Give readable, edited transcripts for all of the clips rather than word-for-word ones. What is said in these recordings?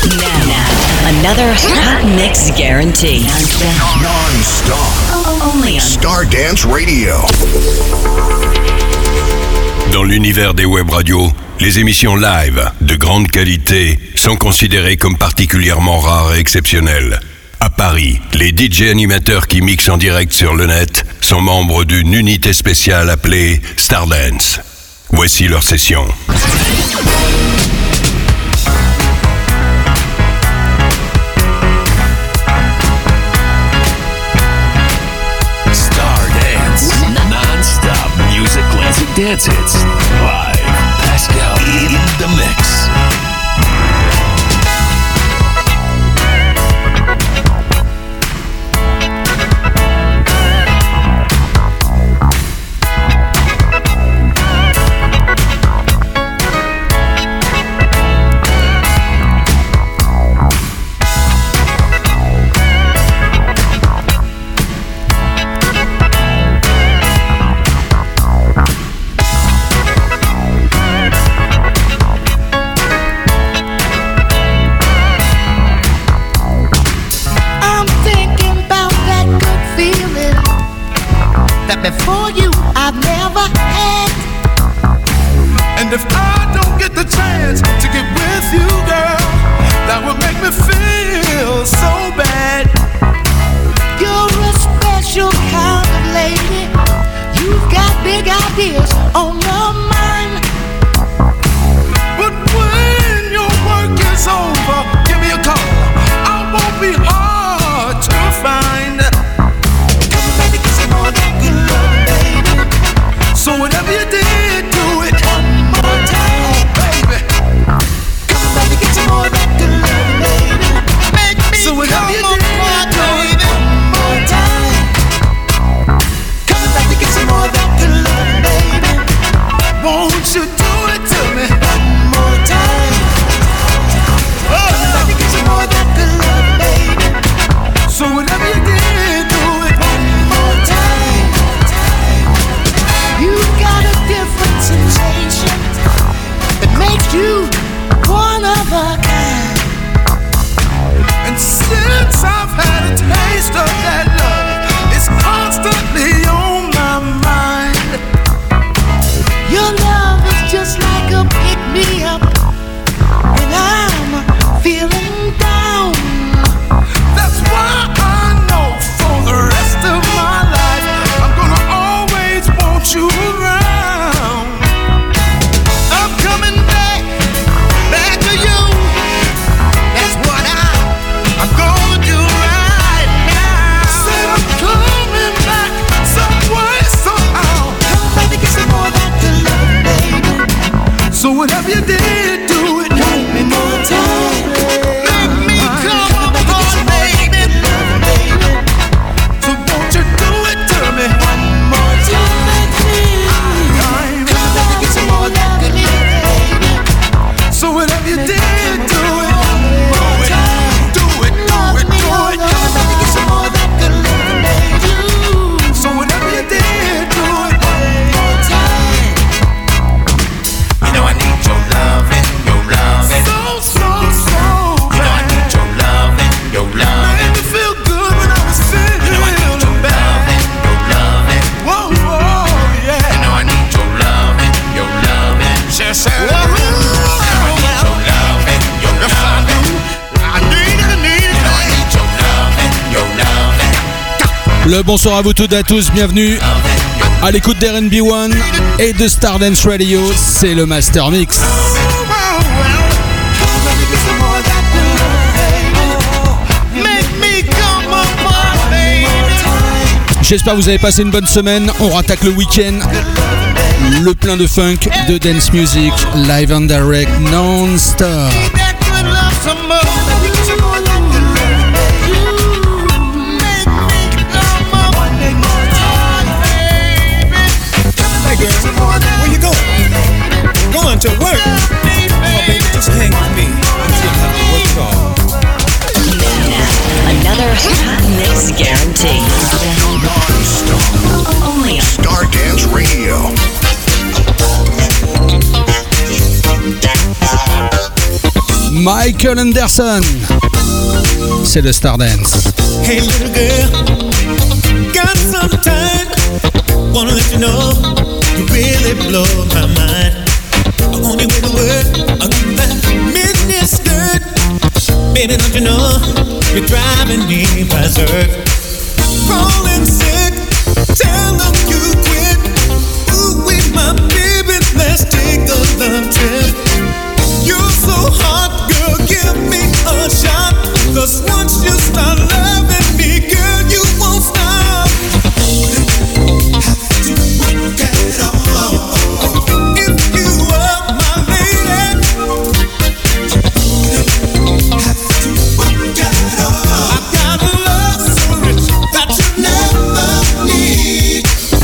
Another hot mix guarantee. Non-stop. Only on Stardance Radio. Dans l'univers des web radios, les émissions live de grande qualité sont considérées comme particulièrement rares et exceptionnelles. À Paris, les DJ animateurs qui mixent en direct sur le net sont membres d'une unité spéciale appelée Stardance. Voici leur session. Non-stop music, classic dance hits. Live, Pascal in the mix. Before you, I've never had. And if I don't get the chance to get with you, girl, that would make me feel so bad. You're a special kind of lady. You've got big ideas on your mind. But when your work is over, give me a call. I won't be hard to find. So whatever you did, do it one more time, baby. Come back and get some more of that good love, baby. Make me so whatever you did, do it one more time. Come back and get some more of that good love, baby. Won't you do it to me one more time? Come back and get some more of that good love, baby. So whatever you did, do it one more time. You've got a different sensation that makes you one of a kind. And since I've had a taste of that love, it's constantly on my mind. Your love is just like a pick-me-up when I'm feeling down. That's why I know for the rest of my life I'm gonna always want you around. I'm coming back to you. That's what I'm gonna do right now. Said I'm coming back some way, somehow. Come back and get some more of that good love, baby. So whatever you did, do it one more time. Make me come on, baby. So won't you do it to me one more time? So whatever you did, do it one more time. Do it, do it, do it. Get some more of that good love, baby. So whatever you did, do it one more time. You know I need your loving, your loving. So. You know I need your loving, your loving. Made me feel good when I was feeling You know I need your loving, your loving. Whoa, yeah. You know I need your loving, your loving. Sure, sure. Le bonsoir à vous toutes et à tous, bienvenue à l'écoute d'R&B One et de Stardance Radio, c'est le Master Mix. J'espère que vous avez passé une bonne semaine, on rattaque le week-end, le plein de funk, de dance music, live and direct, non-stop. Where you going? Going to work. Oh, baby, just hang with me until I have to work off. another hot mix guarantee. Only on Stardance Radio. My Michael Anderson. C'est le Stardance. Hey little girl, got some time. Wanna let you know you really blow my mind. On your way to work, that midnight skirt. Baby, don't you know you're driving me berserk? Falling sick, tell them you quit. Ooh, wait, my baby, let's take a love trip. You're so hot, girl, give me a shot. 'Cause once you start loving me, girl, you won't stop. Have to work it all. If you are my lady, have to work it all. I've got a love so rich that you never need.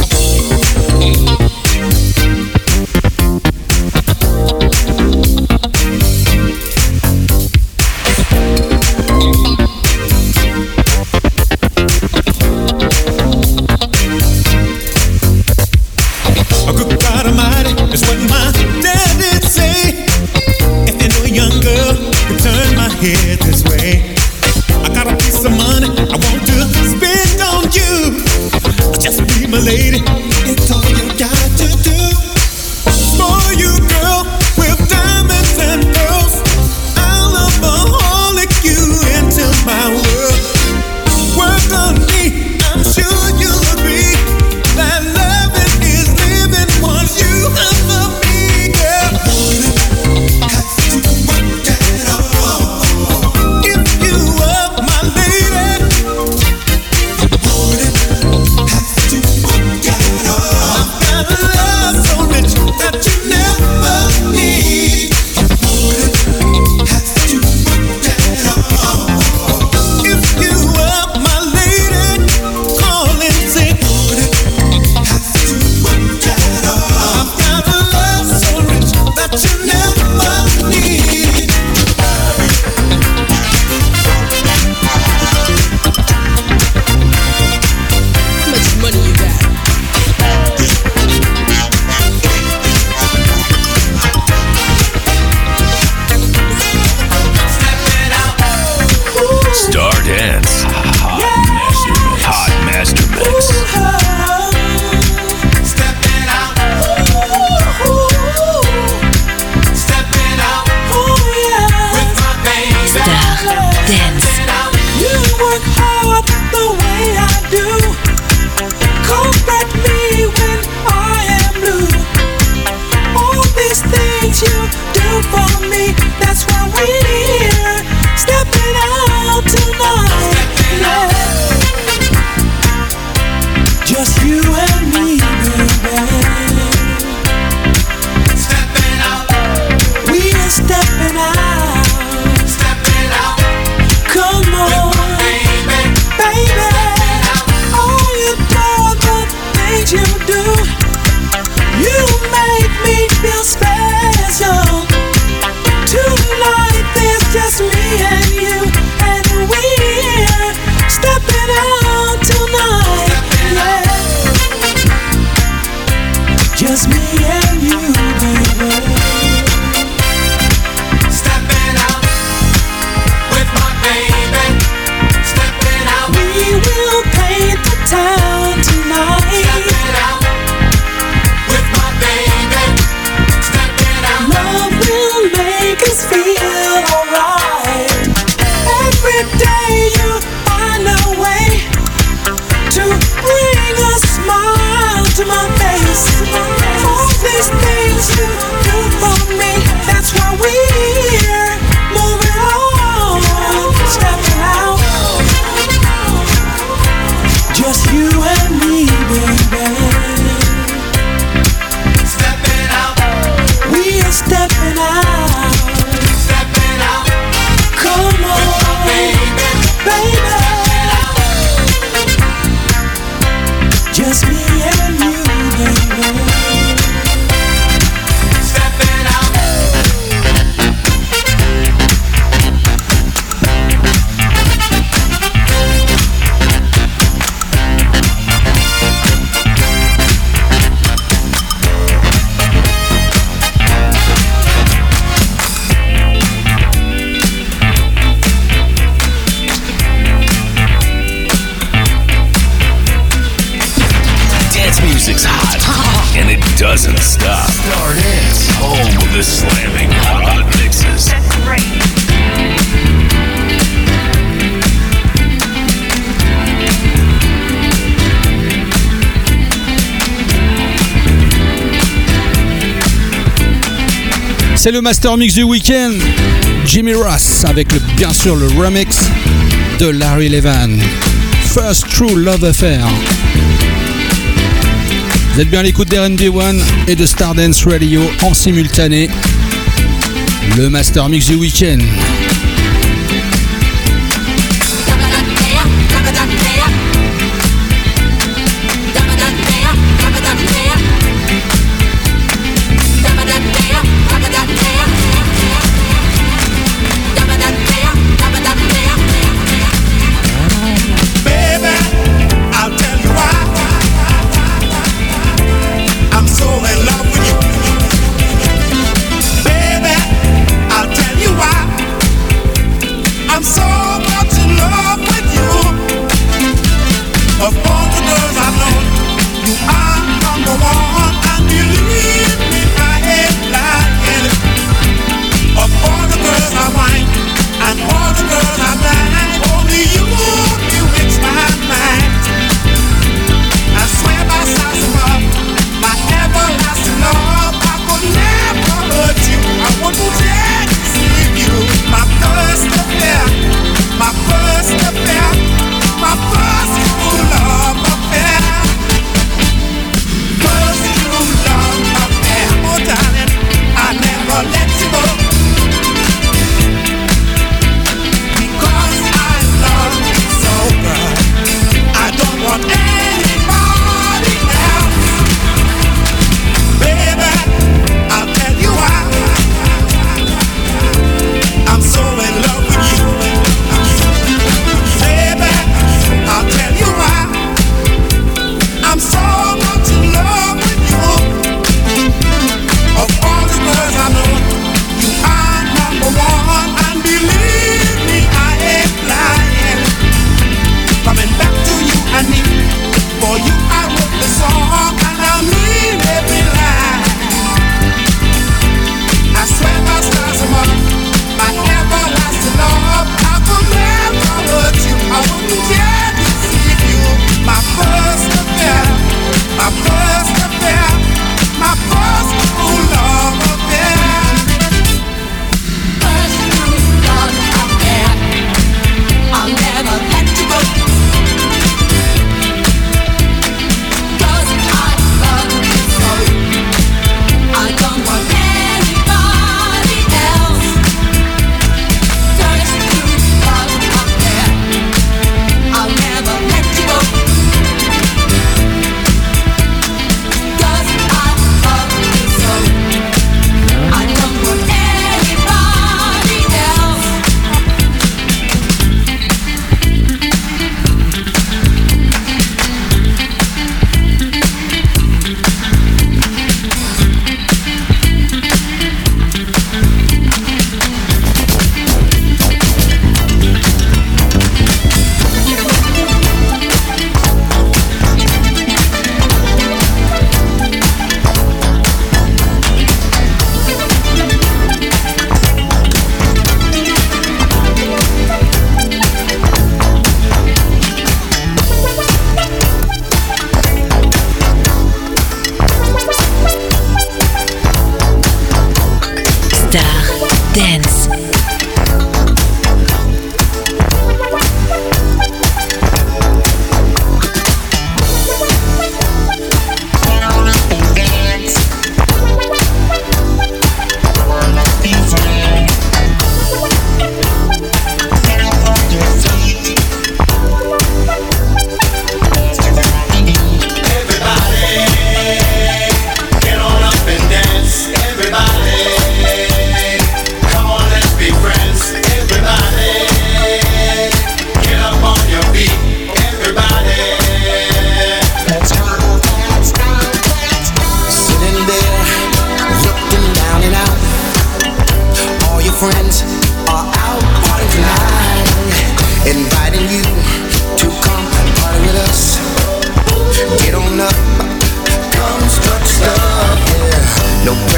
A good God Almighty is what my daddy'd say. If you know a young girl, you turn my head this way. I got a piece of money I want to spend on you. Just be my lady, it's all you got to do. For you, girl, with diamonds and pearls, I'll alcoholic you into my world. Work on me, I'm sure you'll agree that loving is living once you have me, girl. Have to work it all. If you doesn't stop. Star Dance, home of the slamming hot mixes. C'est le Master Mix du week-end. Jimmy Ross avec bien sûr le remix de Larry Levan. First True Love Affair. Vous êtes bien à l'écoute d'R&B One et de Stardance Radio en simultané. Le Master Mix du week-end.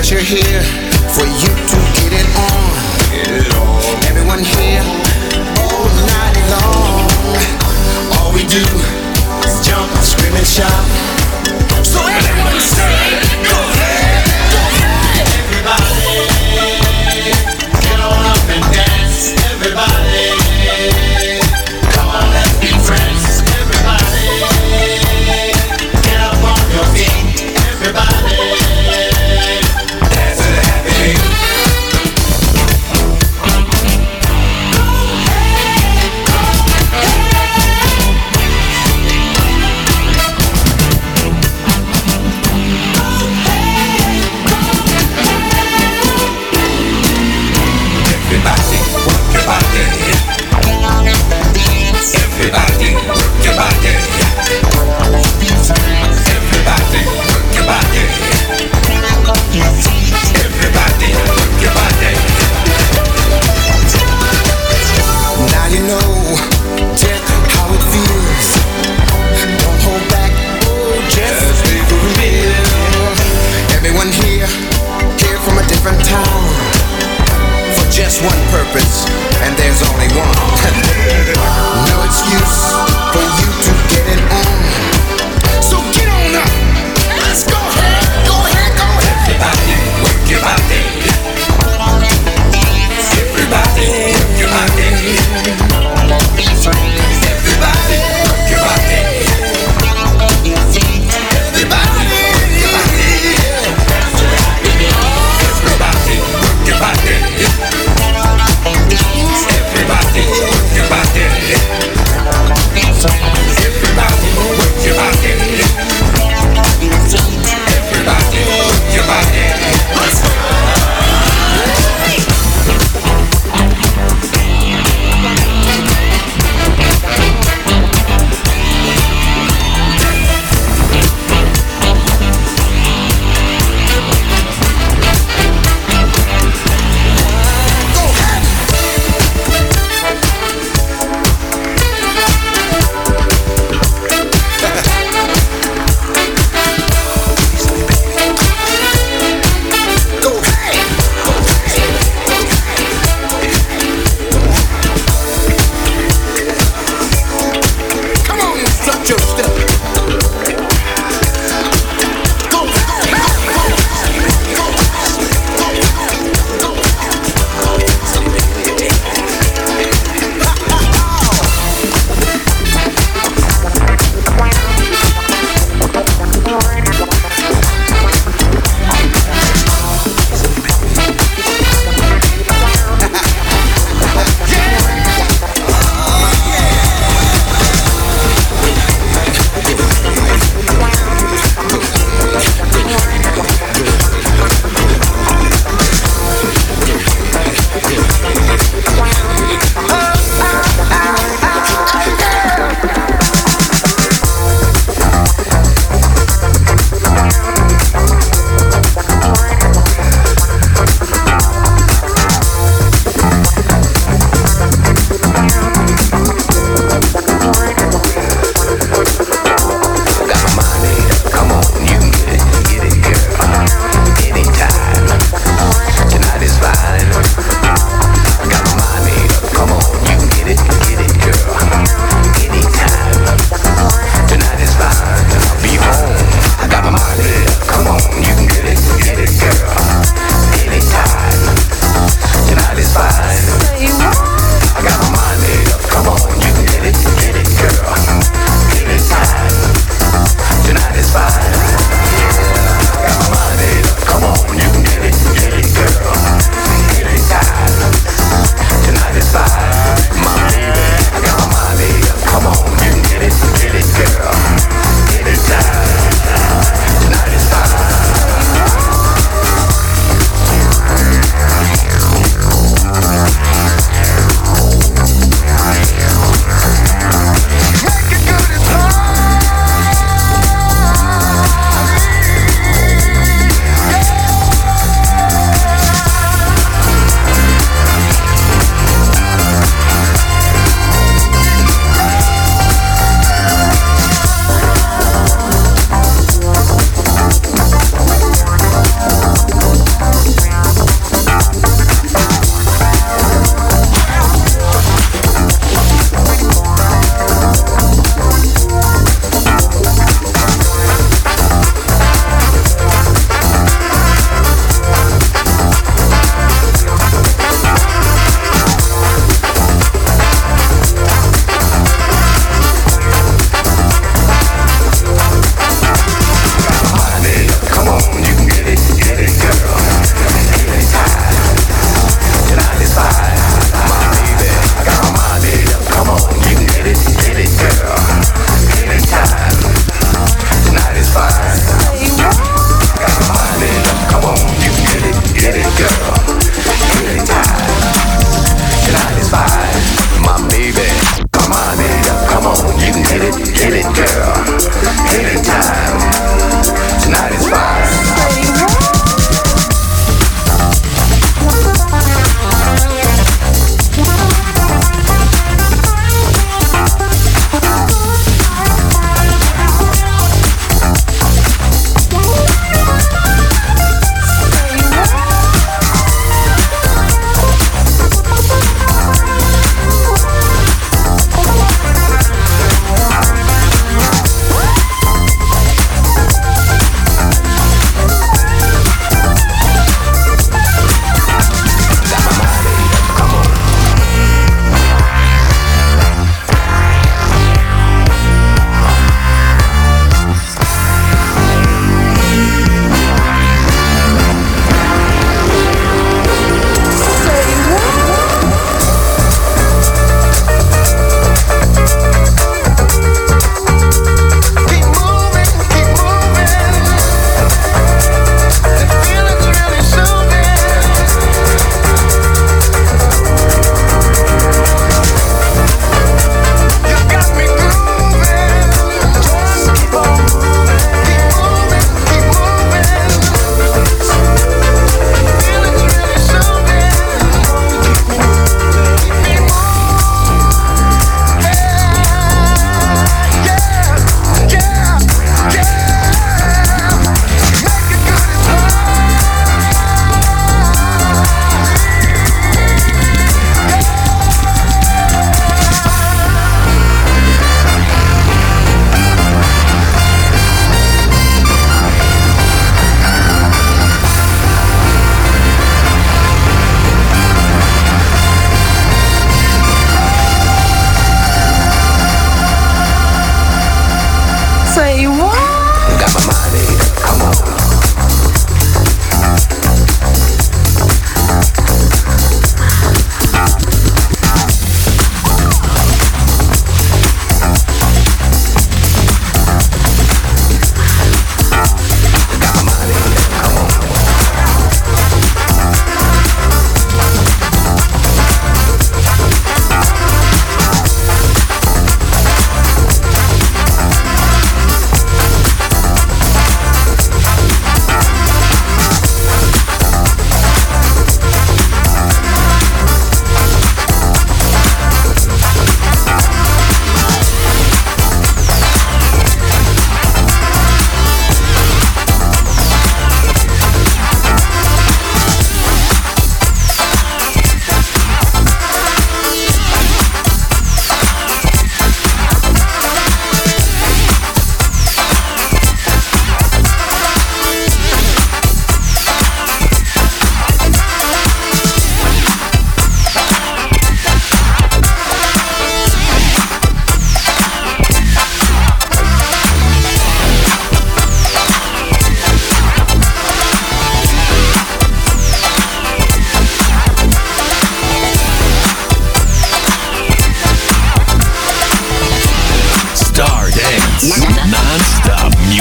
pressure here for you to get it on. Everyone here all night long. All we do is jump, scream and shout. So everyone say, go ahead, go ahead. Everybody, get on up and dance. Everybody, come on, let's be friends. Everybody, get up on your feet. Everybody, dance to the happy beat.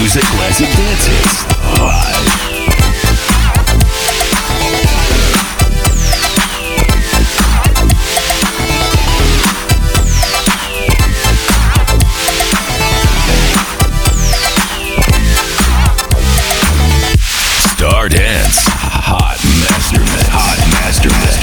music, classic dance hits. Live. Star Dance, Hot Master Mix, Hot Master Mix.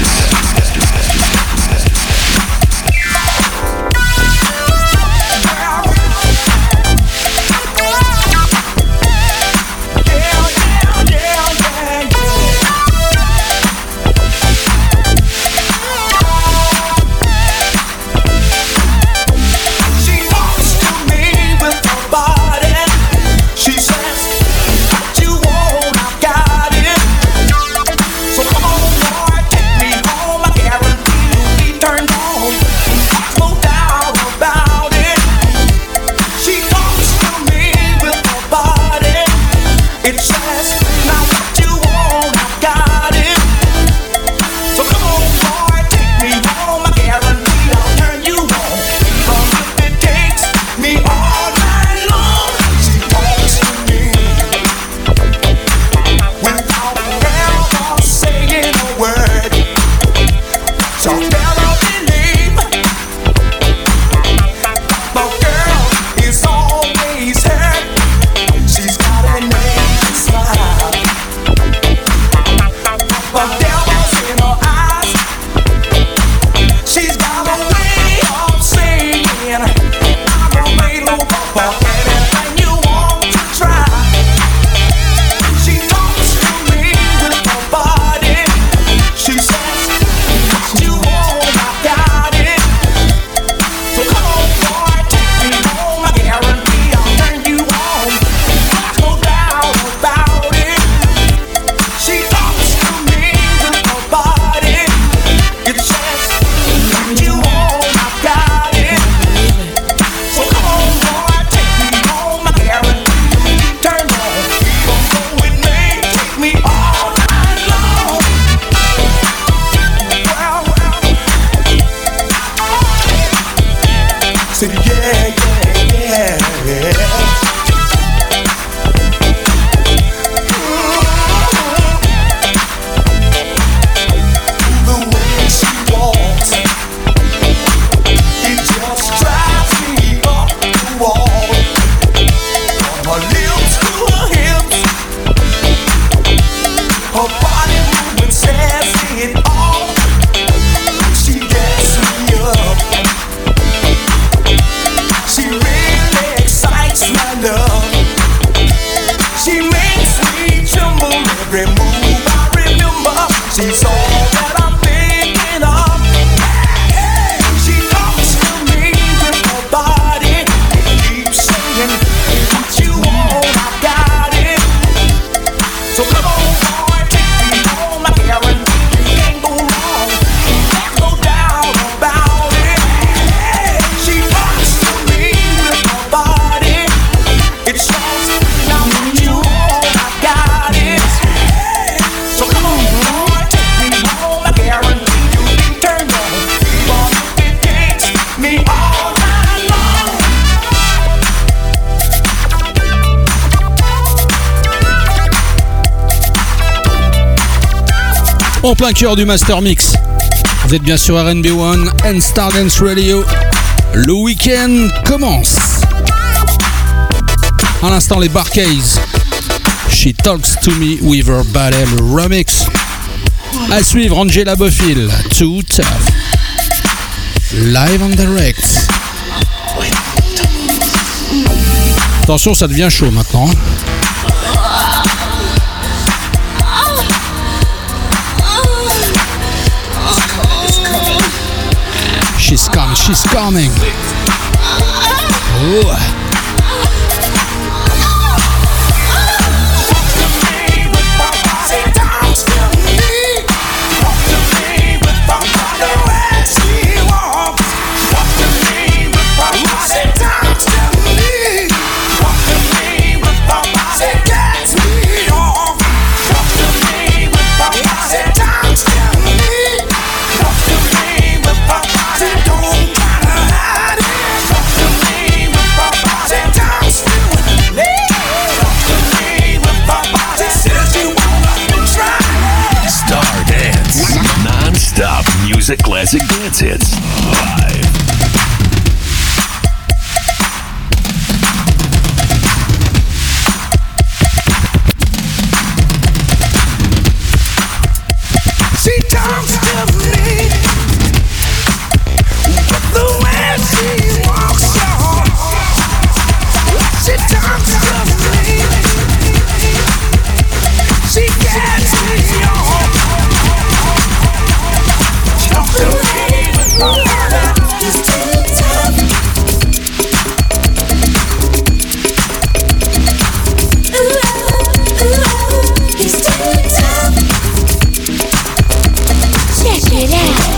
En plein cœur du Master Mix. Vous êtes bien sur RNB One and Star Dance Radio. Le week-end commence. À l'instant, les Bar-Kays. She Talks to Me with Her Body, le remix. À suivre, Angela Bofill, Too Tough. Live and direct. Attention, ça devient chaud maintenant. She's coming. Ooh. Don't try to hide it. dance hits live. She talks to me the way she walks on. She talks to me. She gets me on. Talk to me. He's too tough. Ooh, he's too tough. Check it out.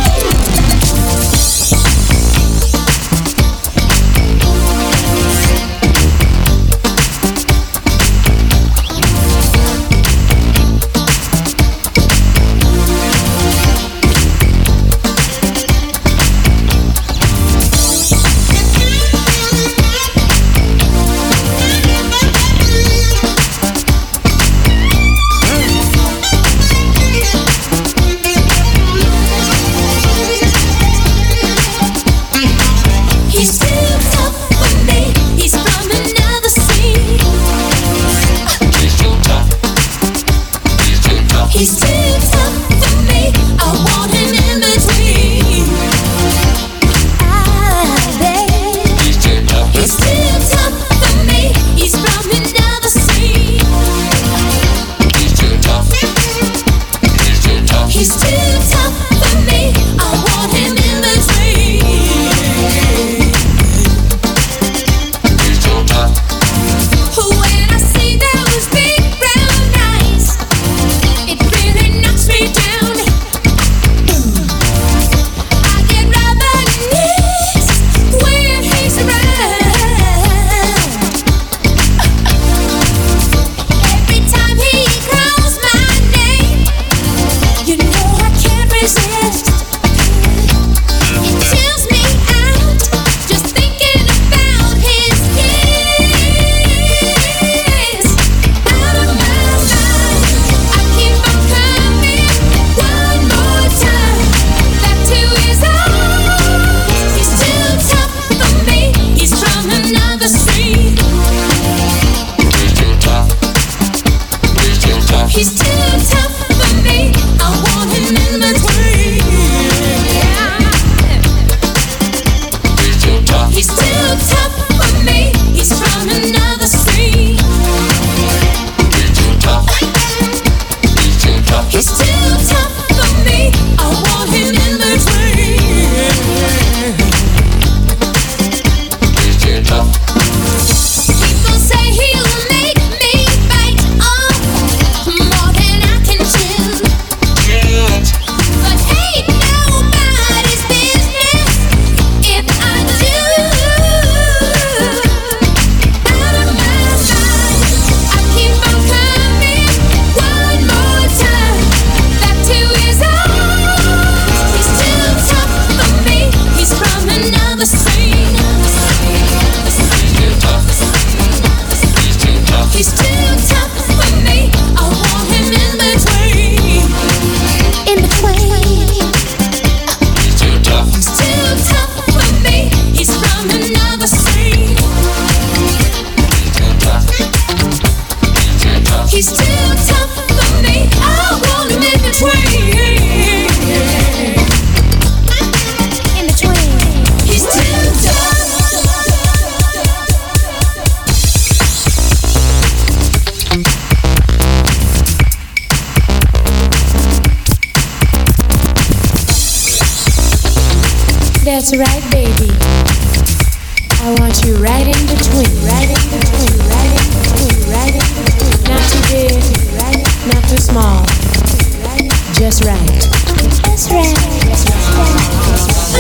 That's right, baby. I want you right in between, right in between, right in between, right in between. Not too big, not too small. Just right. Just right. Just right.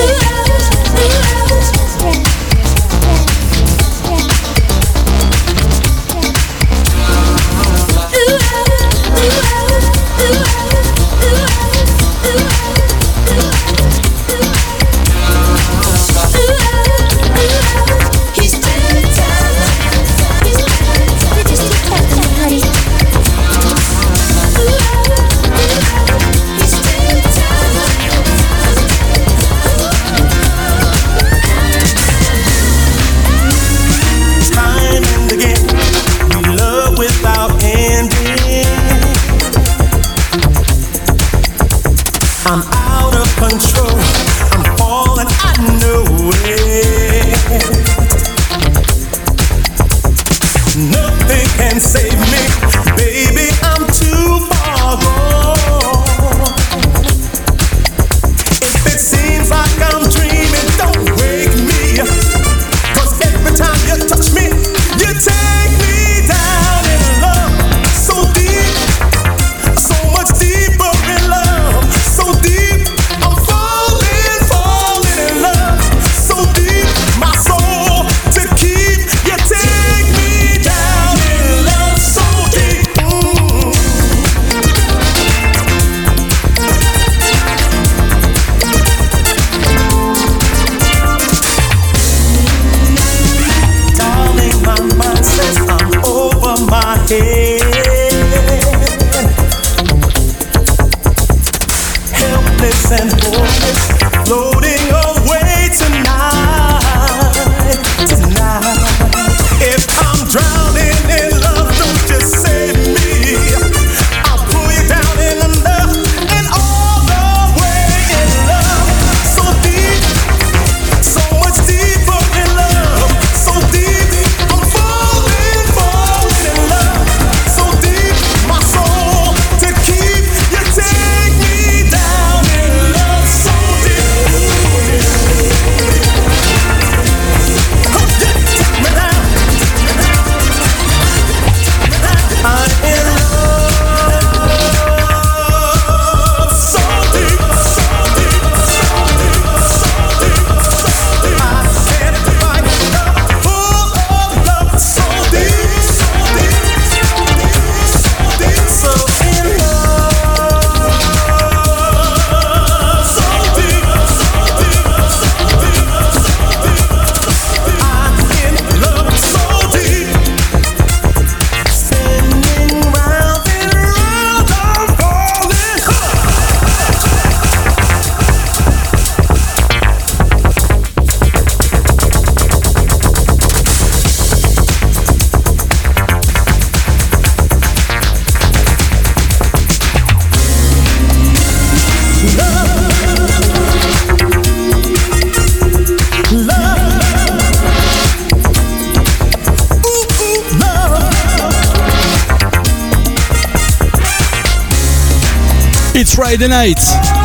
Friday night.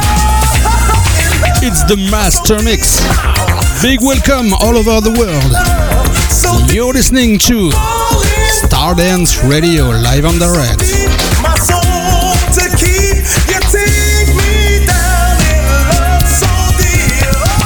It's the Master Mix. Big welcome all over the world. You're listening to Stardance Radio live on direct. My soul to keep, you take me down in love so deep.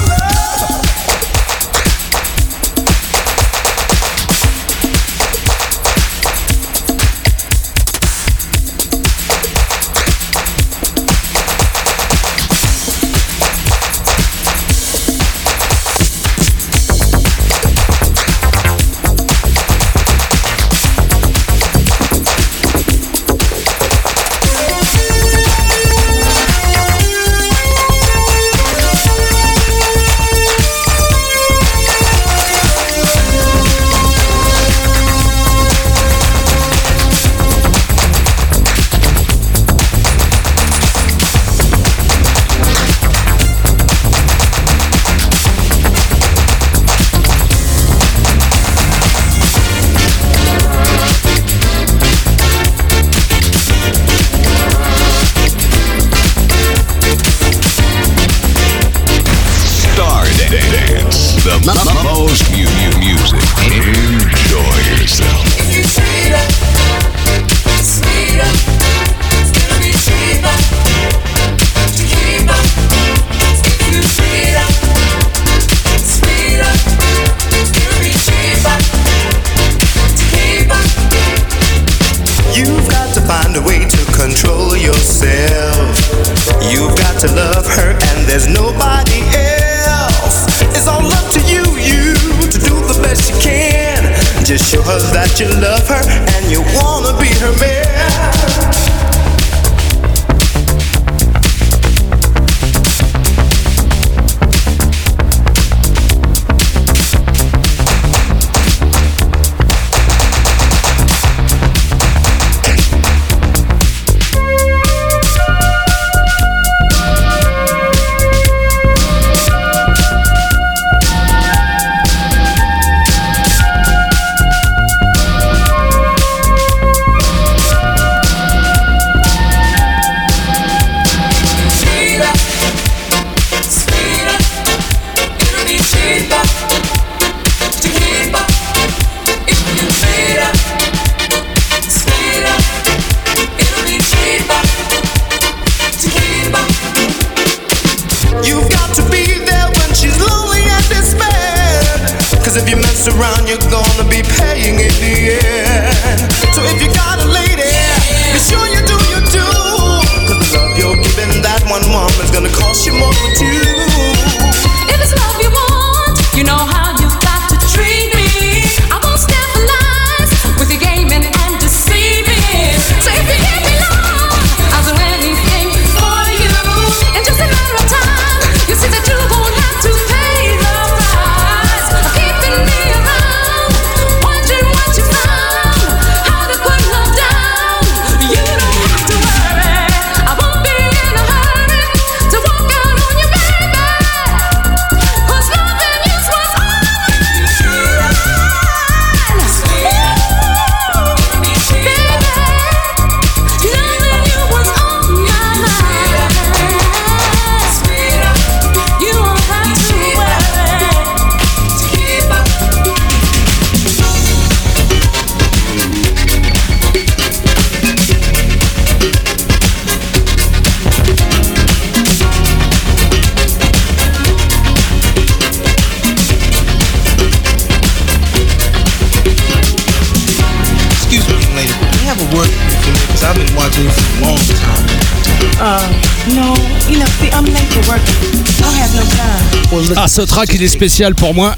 Ah, ce track il est spécial pour moi.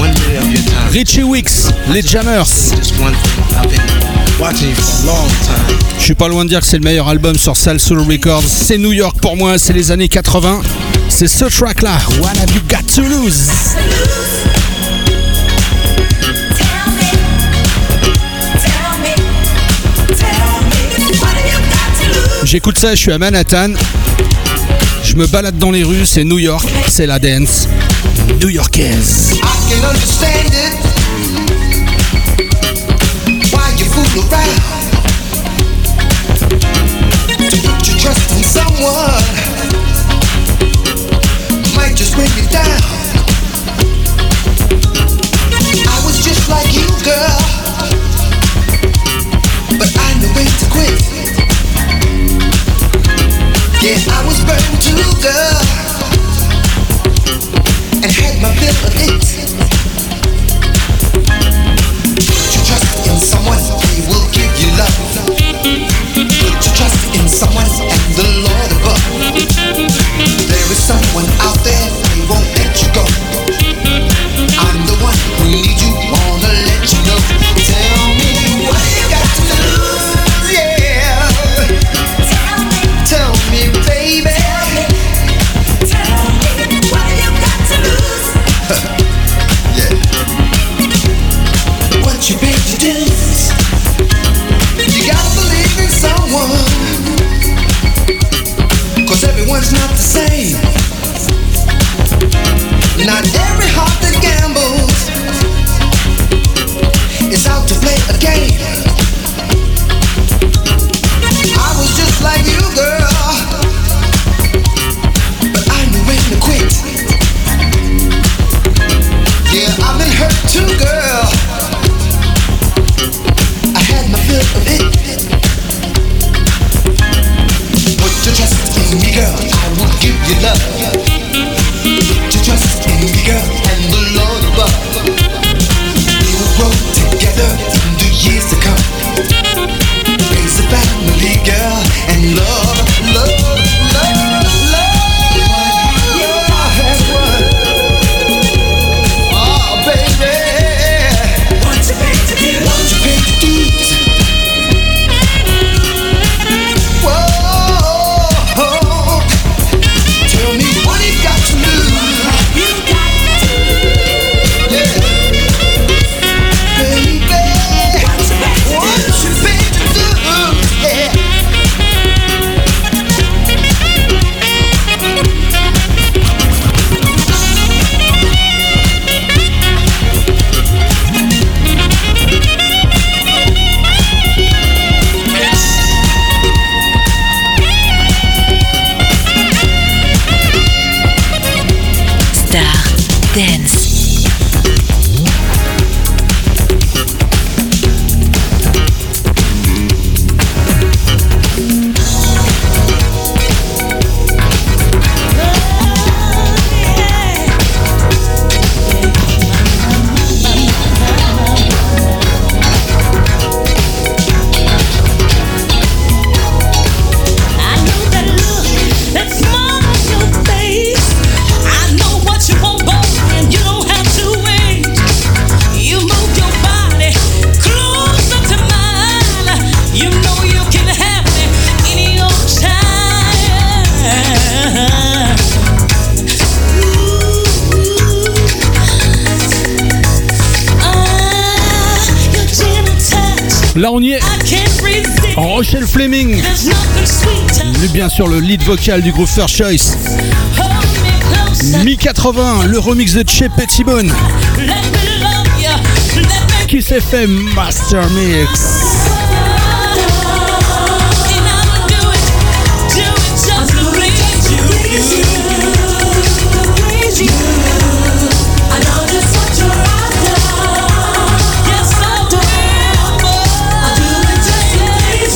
Richie Wicks, les Jammers. Je suis pas loin de dire que c'est le meilleur album sur Salsoul Records. C'est New York pour moi, c'est les années 80. C'est ce track là, What Have You Got to Lose? J'écoute ça, je suis à Manhattan. Je me balade dans les rues, c'est New York, c'est la dance new-yorkaise. I can understand it. Why you fool around? To put you trust in someone might just bring you down. I was just like you, girl, but I knew when to quit. Yeah, I was burned too, girl, and had my fill of it. Put your trust in someone, he will give you love. Put your trust in someone and the Lord above. There is someone out there, he won't let you go. I'm the one who needs you, wanna let you know. Tell me what you got to lose, yeah. Tell me, baby. Tell me what you got to lose. Yeah. What you paid to do? You gotta believe in someone, 'cause everyone's not the same. Not every heart that gambles is out to play a game. I was just like you, girl, but I knew when to quit. Yeah, I've been hurt too, girl. I had my fill of it. Put your trust in me, girl, I will give you love. Put your trust in me, girl, and the Lord above. We will grow together in the years to come. Raise a family, girl, and love, love, love, love. Yeah, one. Oh, baby. What you paid to do? What you paid to do? Whoa. Tell me what you got to lose. You got to lose. Yeah. Baby. What you paid to do? Yeah. Star Dance. I know that look, that smile on your face. I know what you want, boy, and you don't have to wait. You move your body closer to mine. You know you can have me any old time. Your gentle touch, Là, on y est. I can't resist. Rochelle Fleming, There's nothing sweeter. bien sûr le lead vocal du groupe First Choice. Hold me closer. Mi-80, le remix de Che Pettibone. Let me love you. Let me Kiss FM Master Mix. and I'ma do it just to please you. I know just what you're after. Yes, I do. I do it just to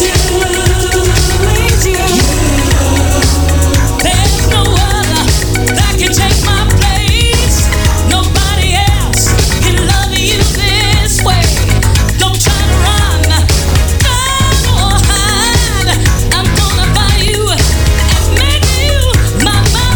please you. There's no other that can take my place. Nobody else can love you this way. Don't try to run, run or hide. I'm gonna buy you and make you my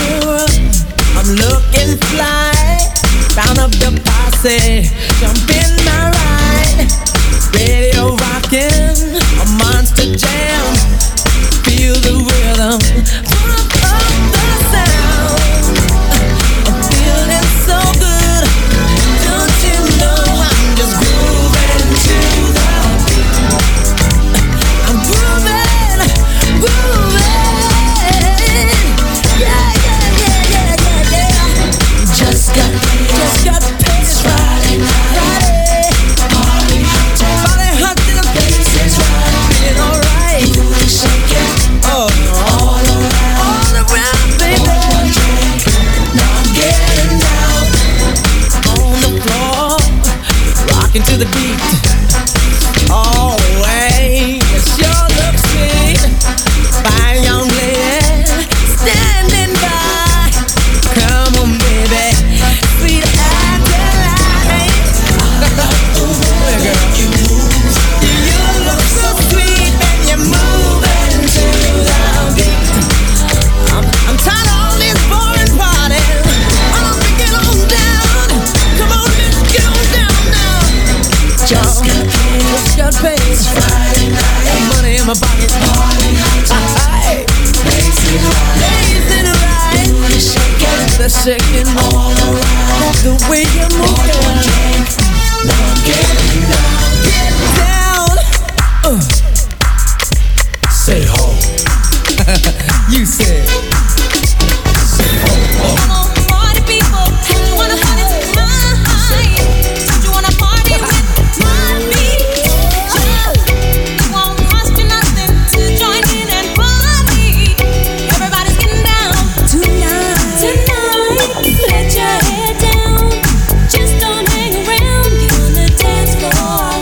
I'm looking fly, round up the posse, jump in my ride, radio rocking, a monster jam, feel the rhythm, pump up the sound, I'm feeling so good, don't you know I'm just grooving to the beat, I'm grooving, Just got paid Friday night. Party hot till the place is right. Feeling alright. Shake it. Oh, all around, baby. One drink. Now I'm getting down on the floor, rocking to the beat. Oh, way, it sure looks sweet. Fine young lady standing by. Come on, baby. Sweet Adeline. Girl, you look so sweet and you're moving to the beat. I'm tired of all this boring partying. I'm gonna get on down. Come on, let's get on down now. Just got paid. Friday night. Got money in my pocket. Party hot. Blazing right. The shaking all around. The way you move. One drink. Now I'm getting down. Get down. Say ho. You said. Say ho. Come on, party people. Don't you wanna party tonight? Don't you wanna party with me? It won't cost you nothing to join in and party. Everybody's getting down tonight. Let your head down. Just don't hang around. Get on the dance floor.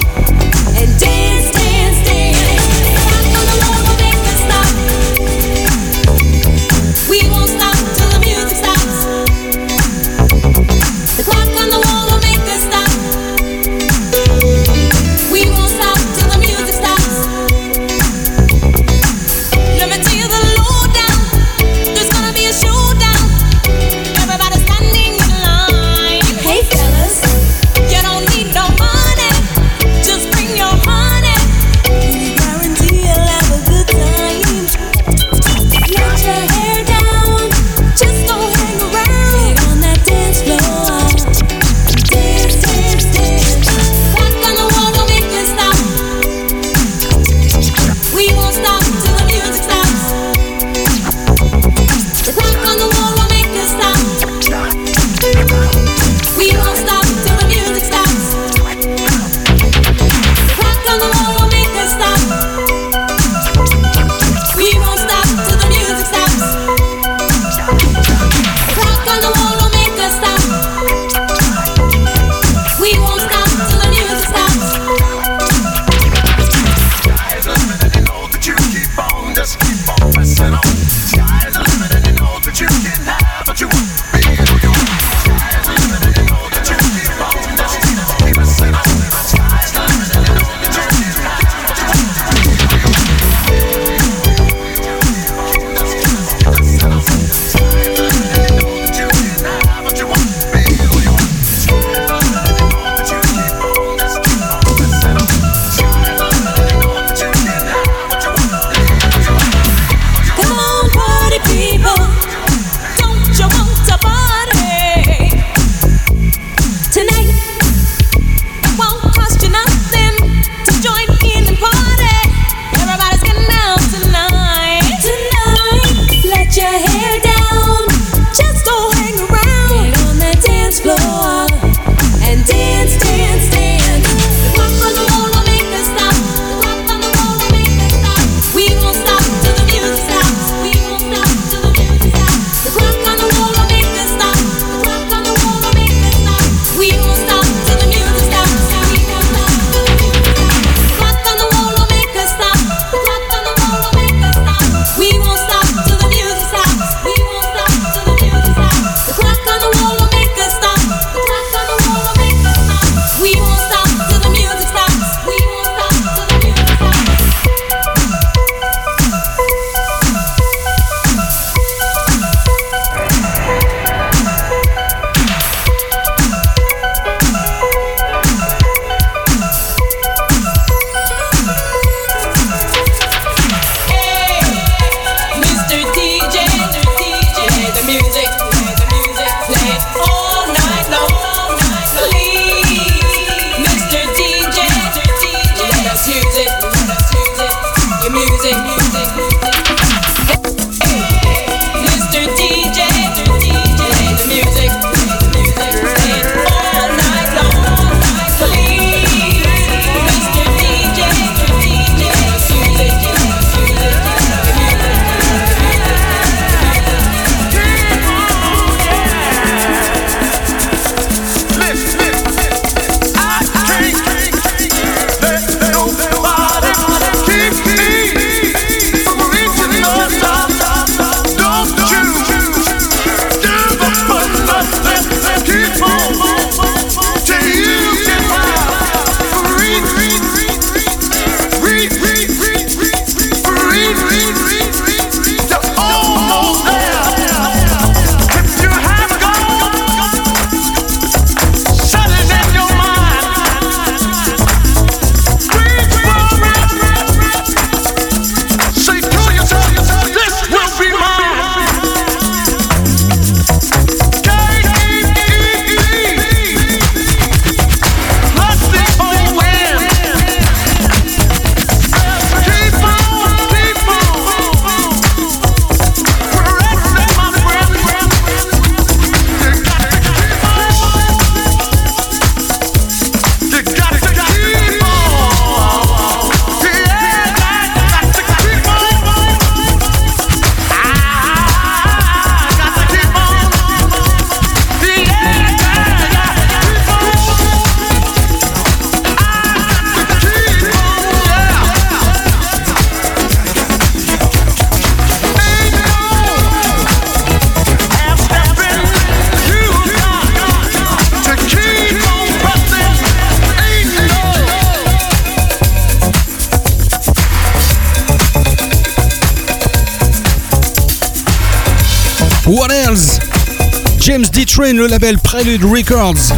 What else? James D. Train, le label Prelude Records.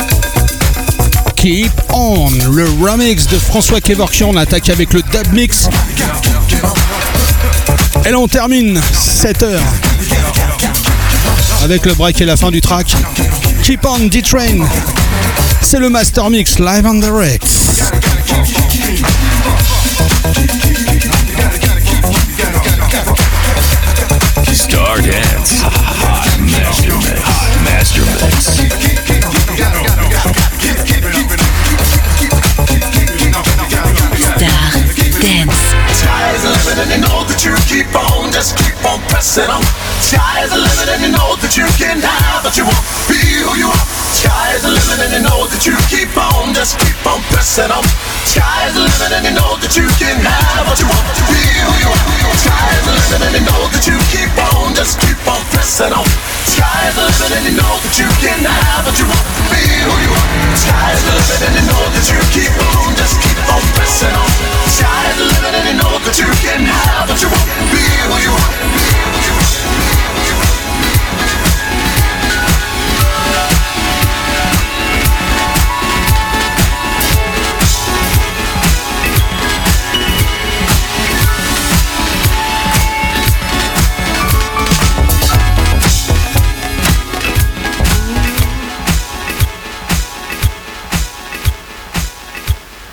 Keep On, le remix de François Kevorkian. On attaque avec le dub mix. Et là on termine 7 heures avec le break et la fin du track. Keep On, D. Train. C'est le Master Mix live on the Rex. Star Dance, Hot Master Mix, Hot Master Mix. Star Dance. Sky is the limit and you know that you keep on, just keep on pressing on. Sky is the limit and you know that you can have what you want, be who you are. Sky is the limit and you know that you keep on, just keep on pressing on. Sky is the limit and you know that you can have what you want, be who you are. Sky is the limit and you know that you keep on, just keep on pressing on. Sky is the limit and you know that you can have what you want, be who you are. Sky is the limit and you know that you keep on, just keep on pressing on. Sky is the limit and you know that you can have what you want, be who you are. Be who you are.